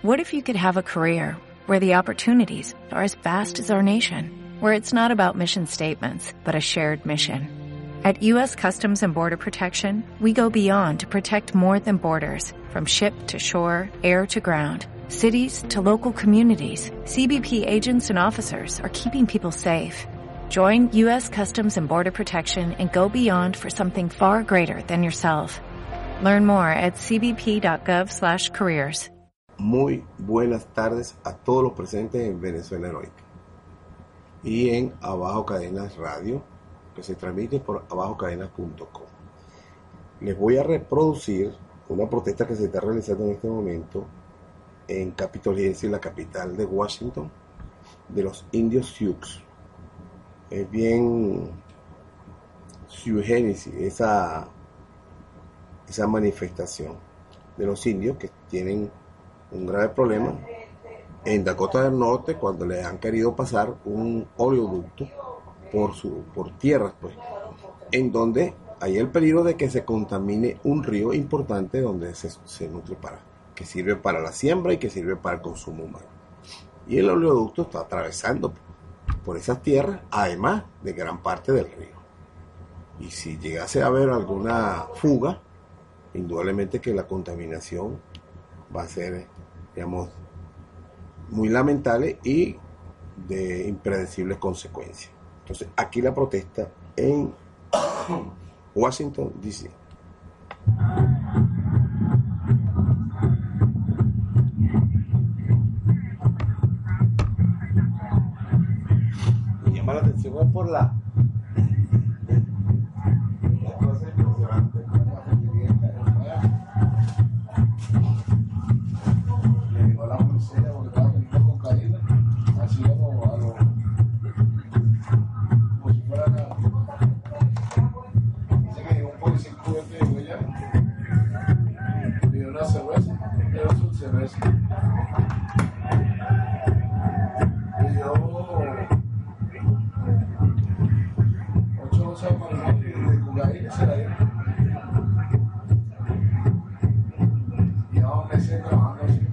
What if you could have a career where the opportunities are as vast as our nation, where it's not about mission statements, but a shared mission? At U.S. Customs and Border Protection, we go beyond to protect more than borders. From ship to shore, air to ground, cities to local communities, CBP agents and officers are keeping people safe. Join U.S. Customs and Border Protection and go beyond for something far greater than yourself. Learn more at cbp.gov/careers. Muy buenas tardes a todos los presentes en Venezuela Heroica y en Abajo Cadenas Radio, que se transmite por abajocadenas.com. Les voy a reproducir una protesta que se está realizando en este momento en Capitol Hill, la capital de Washington, de los indios Sioux. Es bien sui generis esa manifestación de los indios que tienen un grave problema en Dakota del Norte cuando le han querido pasar un oleoducto por tierras, pues, en donde hay el peligro de que se contamine un río importante donde se nutre que sirve para la siembra y que sirve para el consumo humano. Y el oleoducto está atravesando por esas tierras, además de gran parte del río. Y si llegase a haber alguna fuga, indudablemente que la contaminación va a ser, digamos, muy lamentable y de impredecibles consecuencias. Entonces, aquí la protesta en Washington, D.C. Me llama la atención por la cosa impresionante. Le digo a la policía porque estaba veniendo con caída, así como si fuera nada. Dice que un policía encubierto y digo ya, pidió una cerveza, pero es una cerveza. Pidió 8 onzas de marihuana y de cocaína se la dio. Llevamos meses trabajando así.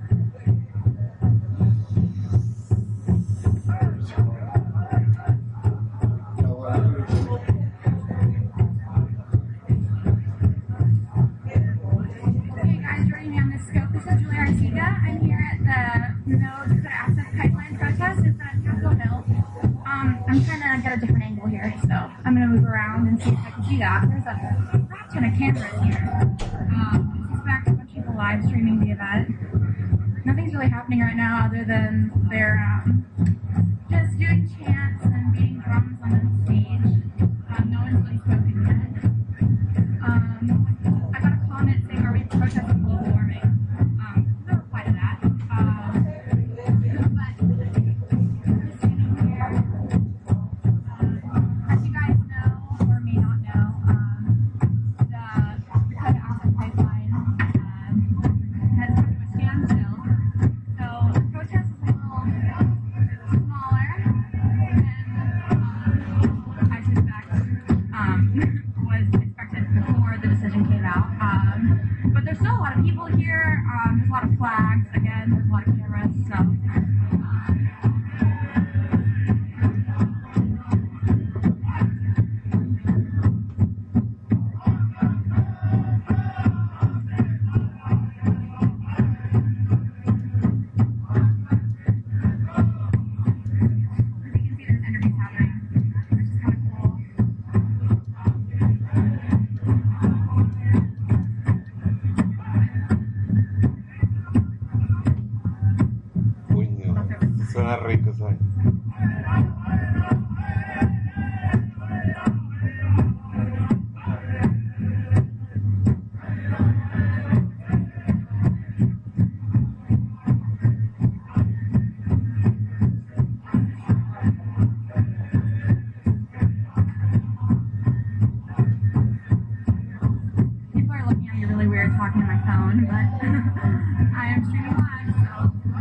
I'm trying to get a different angle here, so I'm going to move around and see if I can see that. There's a crap ton of cameras here. I suspect a bunch of people live streaming the event. Nothing's really happening right now other than they're just doing chants and beating drums on the stage. No one's really spoken yet. I got a comment saying, are we protesting global warming? No reply to that. But as you guys know, or may not know, the Dakota Access Pipeline has come to a standstill. So the protest is a little smaller than I suspect was expected before the decision came out. But there's still a lot of people here. There's a lot of flags. Again, there's a lot of cameras. So. Suena rico, ¿sabes? People are looking at me really weird talking to my phone, but I am streaming live, so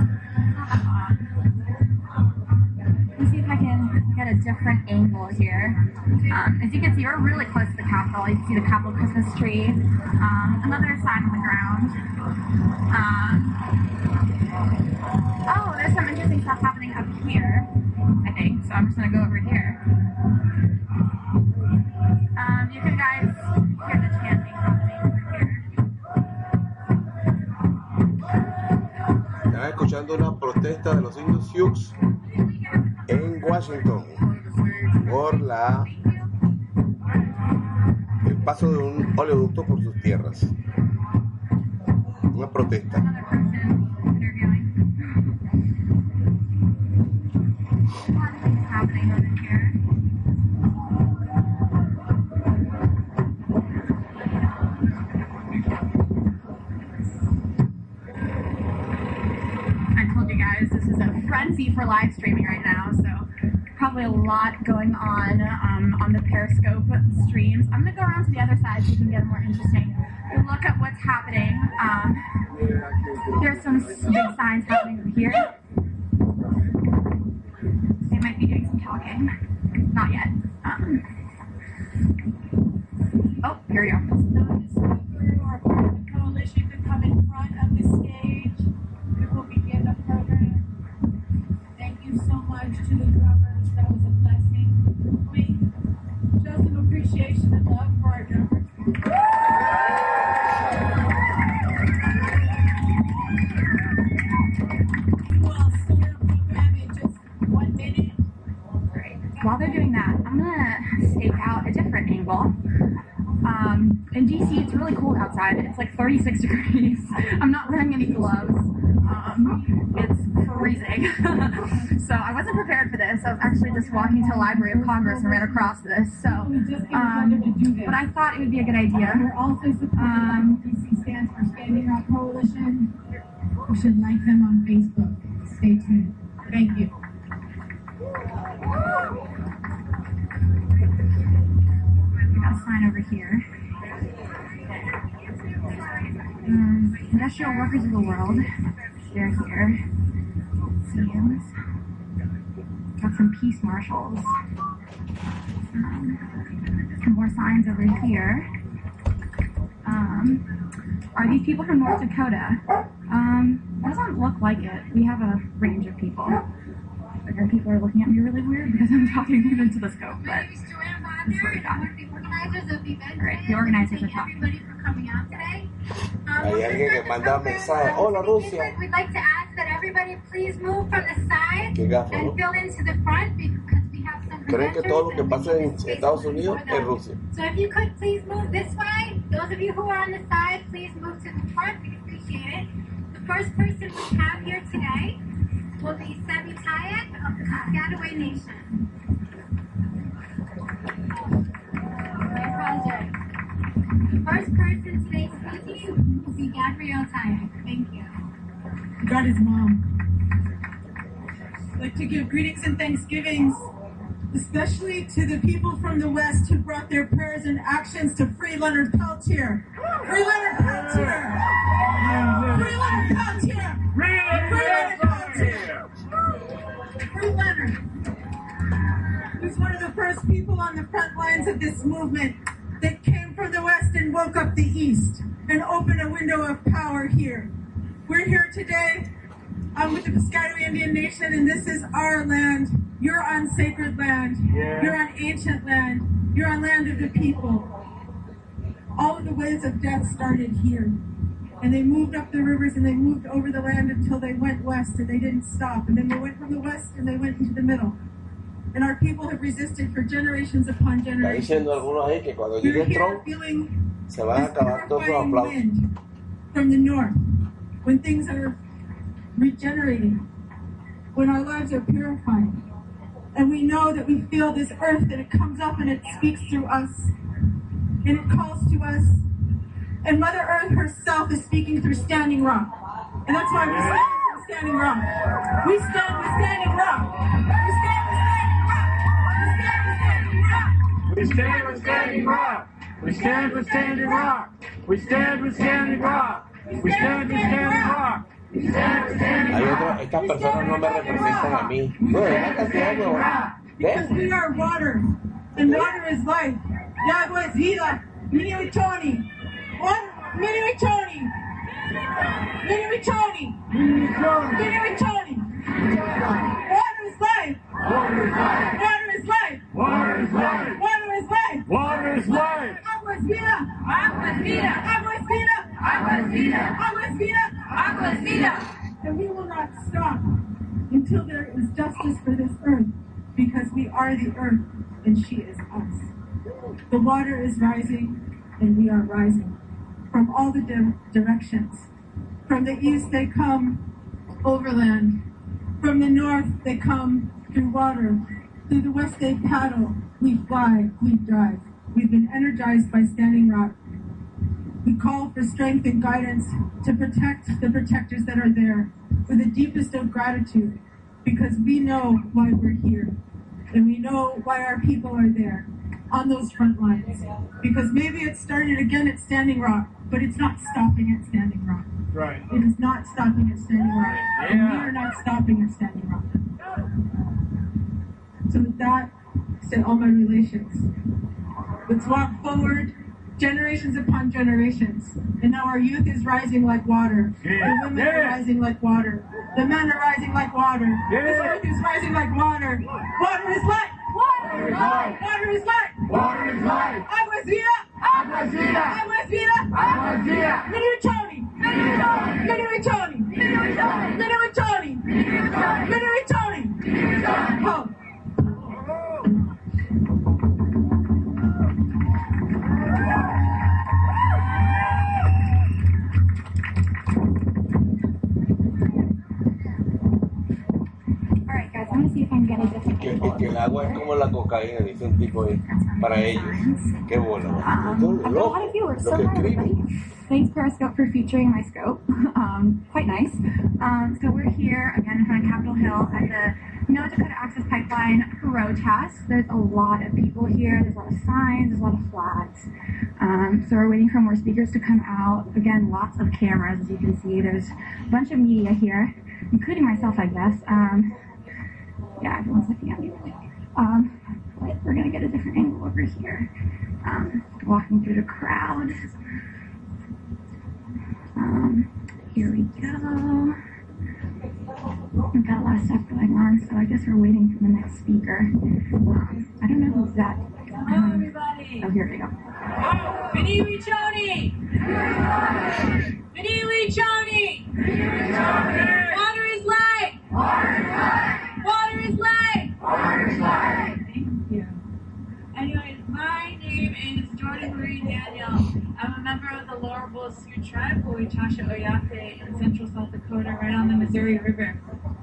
let me see if I can get a different angle here. As you can see, we're really close to the Capitol. You can see the Capitol Christmas tree. Another sign on the ground. here, I think. So I'm just gonna go over here. You can guys hear the chanting happening over here. Están escuchando una protesta de los indios Sioux en Washington por el paso de un oleoducto por sus tierras. Una protesta. Another person interviewing. A lot of things happening over here. I told you guys this is a frenzy for live streaming right now, so probably a lot going on the Periscope streams. I'm gonna go around to the other side so you can get a more interesting look at what's happening. There's some big signs happening over here. They might be doing some talking. Not yet. Oh, here we go. Our coalition to come in front of the stage. We will begin the program. Thank you so much to the drummers. That was a blessing. We show some appreciation and love for our drummers. We'll start our program in just 1 minute. While they're doing that, I'm gonna stake out a different angle. In DC, it's really cold outside. It's like 36 degrees. I'm not wearing any gloves. It's freezing. So I wasn't prepared for this. I was actually just walking to the Library of Congress and ran across this. So, but I thought it would be a good idea. We're also supporting DC stands for Standing Rock Coalition. You should like them on Facebook. Stay tuned. Thank you. We got a sign over here. Industrial Workers of the World. They're here. Seems. Got some peace marshals. Some more signs over here. Are these people from North Dakota? Doesn't look like it. We have a range of people. People are looking at me really weird because I'm talking into the scope, but this is what we got. Great, the organizers are talking. Everybody for coming out today. Hay alguien que manda mensaje. Hola, Rusia. We'd like to ask that everybody please move from the side Qué gafo, and ¿no? fill into the front because we have some Creen que todo lo que pasa en Estados Unidos es Rusia. So if you could please move this way. Those of you who are on the side, please move to the front. We appreciate it. The first person we have here today will be Sebi Tayek of the Piscataway Nation. Project. The first person today speaking will be Gabrielle Tayek. Thank you. God is mom. I'd like to give greetings and thanksgivings, especially to the people from the West who brought their prayers and actions to free Leonard Peltier. Free Leonard Peltier! Free Leonard Peltier! Free Leonard Peltier! Free Leonard! He's one of the first people on the front lines of this movement that came from the West and woke up the East and opened a window of power here. We're here today with the Piscataway Indian Nation, and this is our land. You're on sacred land. Yeah. You're on ancient land. You're on land of the people. All of the waves of death started here. And they moved up the rivers and they moved over the land until they went west and they didn't stop. And then they went from the west and they went into the middle. And our people have resisted for generations upon Está generations. diciendo algunos ahí que cuando We're llegue here Trump feeling se van a this acabar todos sus purifying aplausos. wind from the north, when things are regenerating, when our lives are purified, and we know that we feel this earth, that it comes up and it speaks through us, and it calls to us, and Mother Earth herself is speaking through Standing Rock, and that's why we stand with Standing Rock. We stand with Standing Rock. We stand with Standing Rock. We stand with Standing Rock. We stand with Standing Rock. We stand with Standing Rock. We stand with Standing Rock. We stand with Standing Hay Rock. otros, estas personas no me representan a mí. Bueno, hay una cantidad de nuevos. Because we are water, and water is life. Y agua es vida. Mini Tony. Water, Mini Tony. Mini Tony. Mini Tony. Water is life. Aguas Vida! And we will not stop until there is justice for this earth, because we are the earth and she is us. The water is rising and we are rising from all the directions. From the east they come overland. From the north they come through water. Through the west they paddle. We fly, we drive. We've been energized by Standing Rock. We call for strength and guidance to protect the protectors that are there with the deepest of gratitude, because we know why we're here and we know why our people are there on those front lines. Because maybe it started again at Standing Rock, but it's not stopping at Standing Rock. Right. It is not stopping at Standing Rock. Yeah. And we are not stopping at Standing Rock. So with that, said all my relations. Let's walk forward, generations upon generations. And now our youth is rising like water. Yeah. The women are rising like water. The men are rising like water. Yeah. This earth is rising like water. Water is life. Water is life. Water is life. Water is life. Aguas Vida. Aguas Vida. Aguas Vida. Aguas Vida. Minuitoni. Minuitoni. Minuitoni. Minuitoni. Home. Alright guys, I'm gonna see if I can get a different angle. Que el agua es como la cocaína, dice un tipo ahí, para ellos. Qué bola. A lot of viewers, so hi everybody. Thanks Periscope for featuring my scope. Quite nice. So we're here again in front of Capitol Hill at the North Dakota Access Pipeline protest. There's a lot of people here. There's a lot of signs. There's a lot of flags. So we're waiting for more speakers to come out. Again, lots of cameras, as you can see. There's a bunch of media here, including myself, I guess. Yeah, everyone's looking at me really. But we're gonna get a different angle over here. Walking through the crowd. Here we go. We've got a lot of stuff going on, so I guess we're waiting for the next speaker. I don't know who's that. Hello, everybody. Oh, here we go. Minuitoni! Minuitoni! Water is life! Water is life! Water is life! Water is life! Thank you. Anyways, my name is Jordan Marie Daniel. I'm a member of the Lower Bull Sioux Tribe, Huichasha Oyate, in central South Dakota, right on the Missouri River.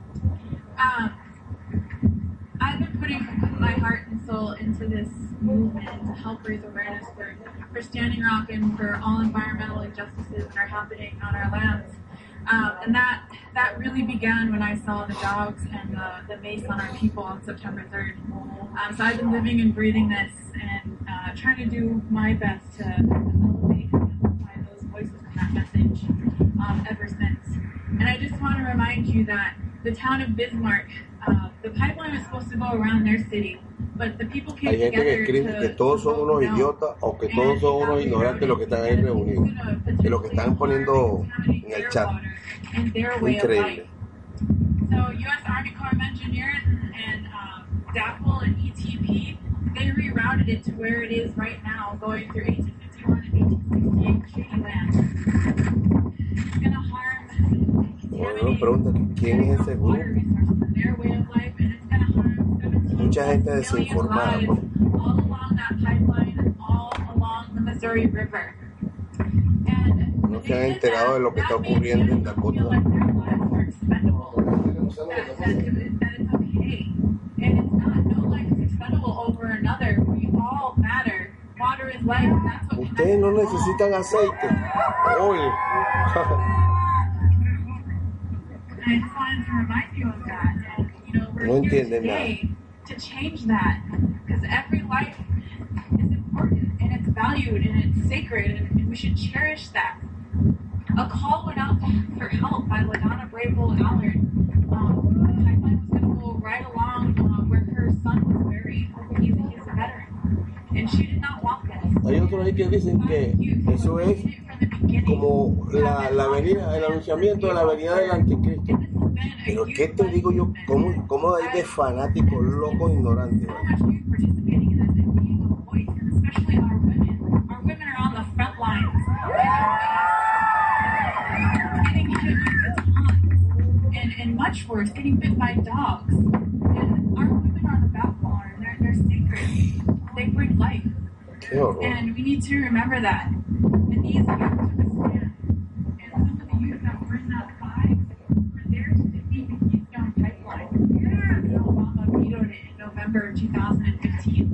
I've been putting my heart and soul into this movement to help raise awareness for Standing Rock and for all environmental injustices that are happening on our lands. And that really began when I saw the dogs and the mace on our people on September 3rd. So I've been living and breathing this and trying to do my best to elevate and amplify those voices and that message ever since. And I just want to remind you that the town of Bismarck, the pipeline was supposed to go around their city, but the people came Hay gente que escribe que todos son unos idiotas o que todos son unos ignorantes de lo que están ahí reunidos, de lo que están poniendo en el chat. Increíble. So U.S. Army Corps of Engineers and DAPL and ETP, they rerouted it to where it is right now, going through 1851 and 1868 treaty land. It's going to harm Bueno, pregunta, ¿quién es ese grupo? their way of life, and it's going to harm 17 Mucha gente million desinformada, lives pues. all along that pipeline and all along the Missouri River. And No se han enterado de lo que está ocurriendo en Dakota. that it's okay. And it's not. No life is expendable over another. We all matter. Water is life. And that's what Ustedes no necesitan aceite. Oye. I just wanted to remind you of that. And, you know, we're No here entienden today to change that. Because every life is important and it's valued and it's sacred and we should cherish that. A call went out for help by LaDonna Brable Allard. The pipeline was going to go right along where her son was buried. He's a veteran. And she did not want this. Hay otros ahí que dicen que eso es como la avenida, el anunciamiento de la avenida del anticristo. Pero ¿qué te digo yo? ¿Cómo hay de fanáticos locos ignorantes? So much youth participating in this and being a voice, and especially our women. Our women are on the front lines. Getting hit with and much worse, getting bit by dogs. And our women are the backbone. They're sacred. They bring life. Qué horror. And we need to remember that. And these youth took a stand. And some of the youth that were in that fight were there to defeat the Keystone Pipeline. And Obama vetoed it in November 2015.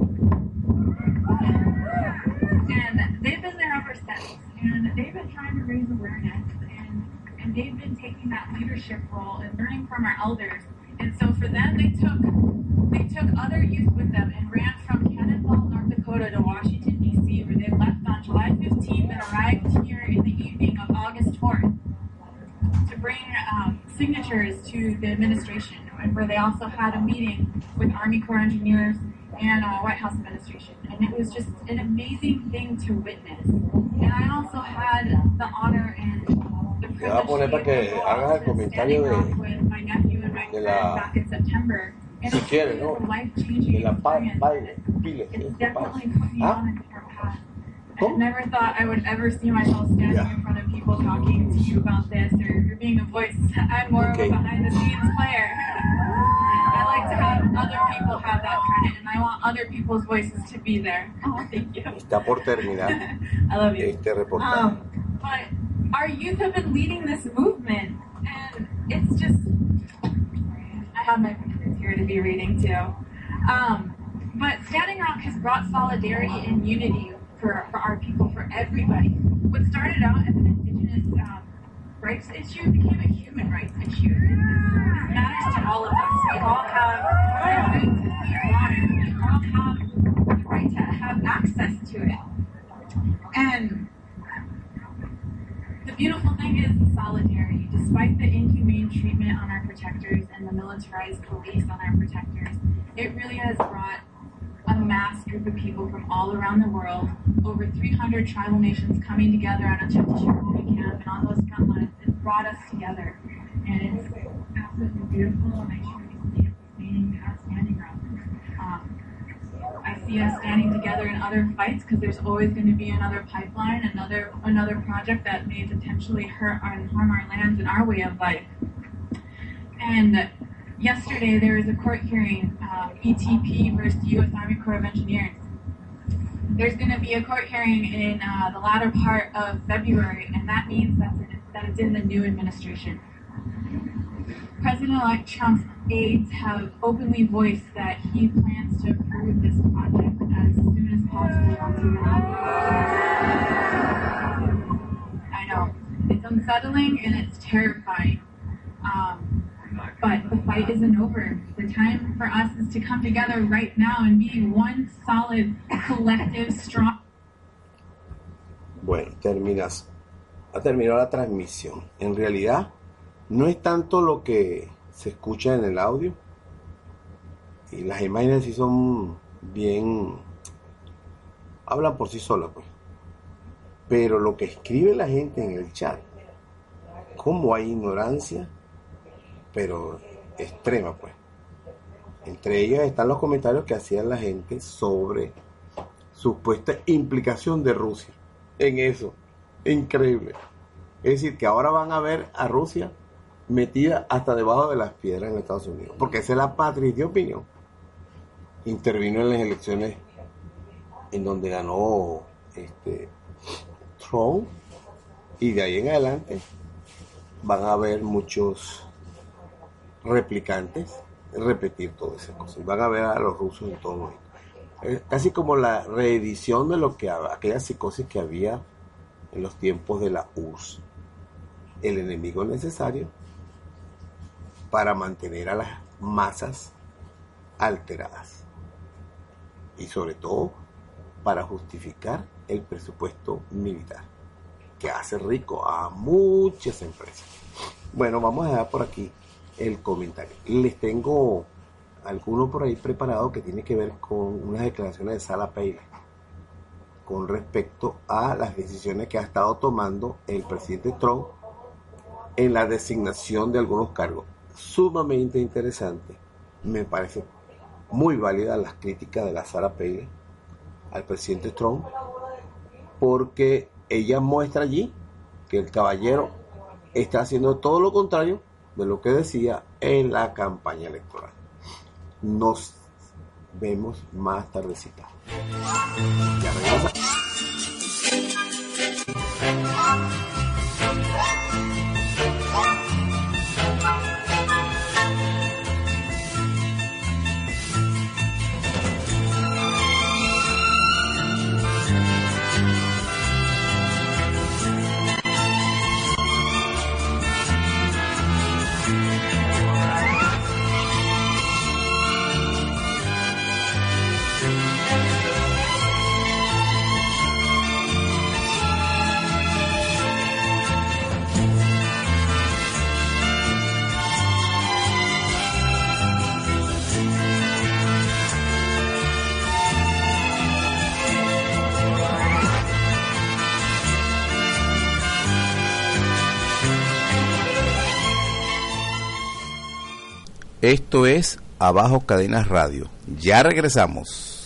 And they've been there ever since. And they've been trying to raise awareness. And they've been taking that leadership role and learning from our elders. And so for them, they took other youth with them and ran from Cannonball, North Dakota to Washington, D.C., where they left on July 15th and arrived here in the evening of August 4th to bring signatures to the administration, and where they also had a meeting with Army Corps engineers and White House administration. And it was just an amazing thing to witness. And I also had the honor and the Te voy a poner para que hagas el comentario de la, back in September. And si quieres, ¿no? De la baile, pile. It's definitely put me on a different path. I never thought I would ever see myself standing in front of people talking to you about this or being a voice. I'm more of a behind the scenes player. I like to have other people have that credit, and I want other people's voices to be there. Oh, thank you. Está por terminar I love you. este reportaje. But our youth have been leading this movement, and it's just, I have my pictures here to be reading too. But Standing Rock has brought solidarity and unity for our people, for everybody. What started out as an indigenous rights issue became a human rights issue. This matters to all of us. We all have the right to clean water. We all have the right to have access to it. And the beautiful thing is solidarity. Despite the inhumane treatment on our protectors and the militarized police on our protectors, it really has brought a mass group of people from all around the world, over 300 tribal nations coming together at a Chetishikumi camp and on those front lines. It's brought us together. And it's absolutely beautiful, and I truly see it sustaining our Standing Rock. I see us standing together in other fights because there's always going to be another pipeline, another project that may potentially hurt and harm our lands and our way of life. And yesterday there was a court hearing, ETP versus U.S. Army Corps of Engineers. There's going to be a court hearing in the latter part of February, and that means that it's in the new administration. President-elect Trump's aides have openly voiced that he plans to approve this project as soon as possible. I know. It's unsettling and it's terrifying. But the fight isn't over. The time for us is to come together right now and be one solid, collective, strong. Bueno, ha terminado la transmisión. En realidad, no es tanto lo que se escucha en el audio, y las imágenes sí son bien, hablan por sí solas, pues. Pero lo que escribe la gente en el chat, cómo hay ignorancia, pero extrema, pues. Entre ellas están los comentarios que hacía la gente sobre supuesta implicación de Rusia en eso. Increíble. Es decir, que ahora van a ver a Rusia metida hasta debajo de las piedras en Estados Unidos, porque esa es la patria de opinión. Intervino en las elecciones en donde ganó Trump, y de ahí en adelante van a haber muchos replicantes repetir todas esas cosas, y van a ver a los rusos en todo esto. Es casi como la reedición de lo que aquella psicosis que había en los tiempos de la URSS. El enemigo necesario para mantener a las masas alteradas, y sobre todo para justificar el presupuesto militar que hace rico a muchas empresas. Bueno, vamos a dejar por aquí el comentario. Les tengo alguno por ahí preparado que tiene que ver con unas declaraciones de Sarah Palin con respecto a las decisiones que ha estado tomando el presidente Trump en la designación de algunos cargos. Sumamente interesante. Me parece muy válida las críticas de la Sarah Palin al presidente Trump, porque ella muestra allí que el caballero está haciendo todo lo contrario de lo que decía en la campaña electoral. Nos vemos más tardecita. Ya regresamos. Esto es Abajo Cadenas Radio. Ya regresamos.